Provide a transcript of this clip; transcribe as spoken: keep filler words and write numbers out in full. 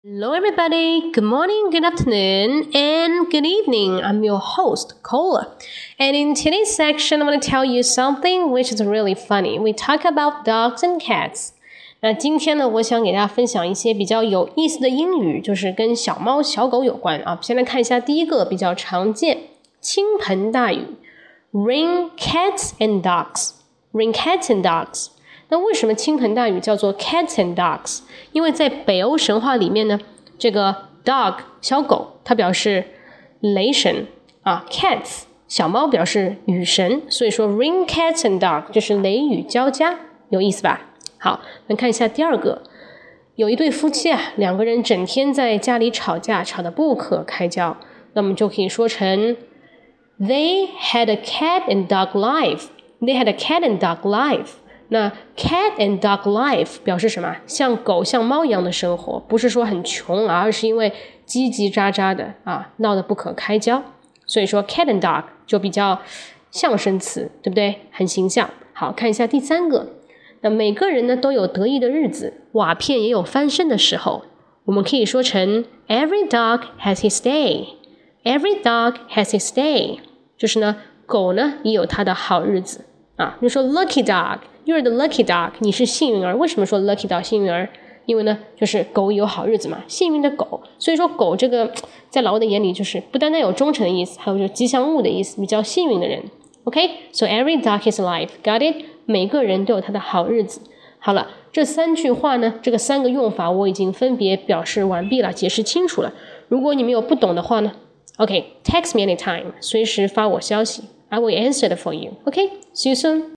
Hello everybody, good morning, good afternoon, and good evening. I'm your host, Cola. And in today's section, I'm going to tell you something which is really funny. We talk about dogs and cats. 那今天呢，我想给大家分享一些比较有意思的英语，就是跟小猫小狗有关啊。先来看一下第一个比较常见，倾盆大雨 Rain cats and dogs. Rain cats and dogs. 那为什么倾盆大雨叫做 cats and dogs？ 因为在北欧神话里面呢，这个 dog 小狗它表示雷神啊 ，cats 小猫表示雨神，所以说 rain cats and dogs 就是雷雨交加，有意思吧？好，我们看一下第二个，有一对夫妻啊，两个人整天在家里吵架，吵得不可开交，那么就可以说成 They had a cat and dog life. They had a cat and dog life.那 cat and dog life 表示什么？像狗像猫一样的生活，不是说很穷啊，而是因为叽叽喳喳的啊，闹得不可开交。所以说 cat and dog 就比较象声词，对不对？很形象。好，看一下第三个。那每个人呢都有得意的日子，瓦片也有翻身的时候。我们可以说成 Every dog has his day. Every dog has his day. 就是呢，狗呢也有它的好日子啊。你说 lucky dog。You're the lucky dog. 你是幸运儿。为什么说 lucky dog 幸运儿？因为呢，就是狗有好日子嘛，幸运的狗。所以说狗这个在老外的眼里就是不单单有忠诚的意思，还有就是吉祥物的意思，比较幸运的人。OK? So every dog has a life. Got it? 每个人都有他的好日子。好了，这三句话呢，这个三个用法我已经分别表示完毕了，解释清楚了。如果你们有不懂的话呢 ，OK, text me anytime. 随时发我消息。I will answer it for you. OK? See you soon.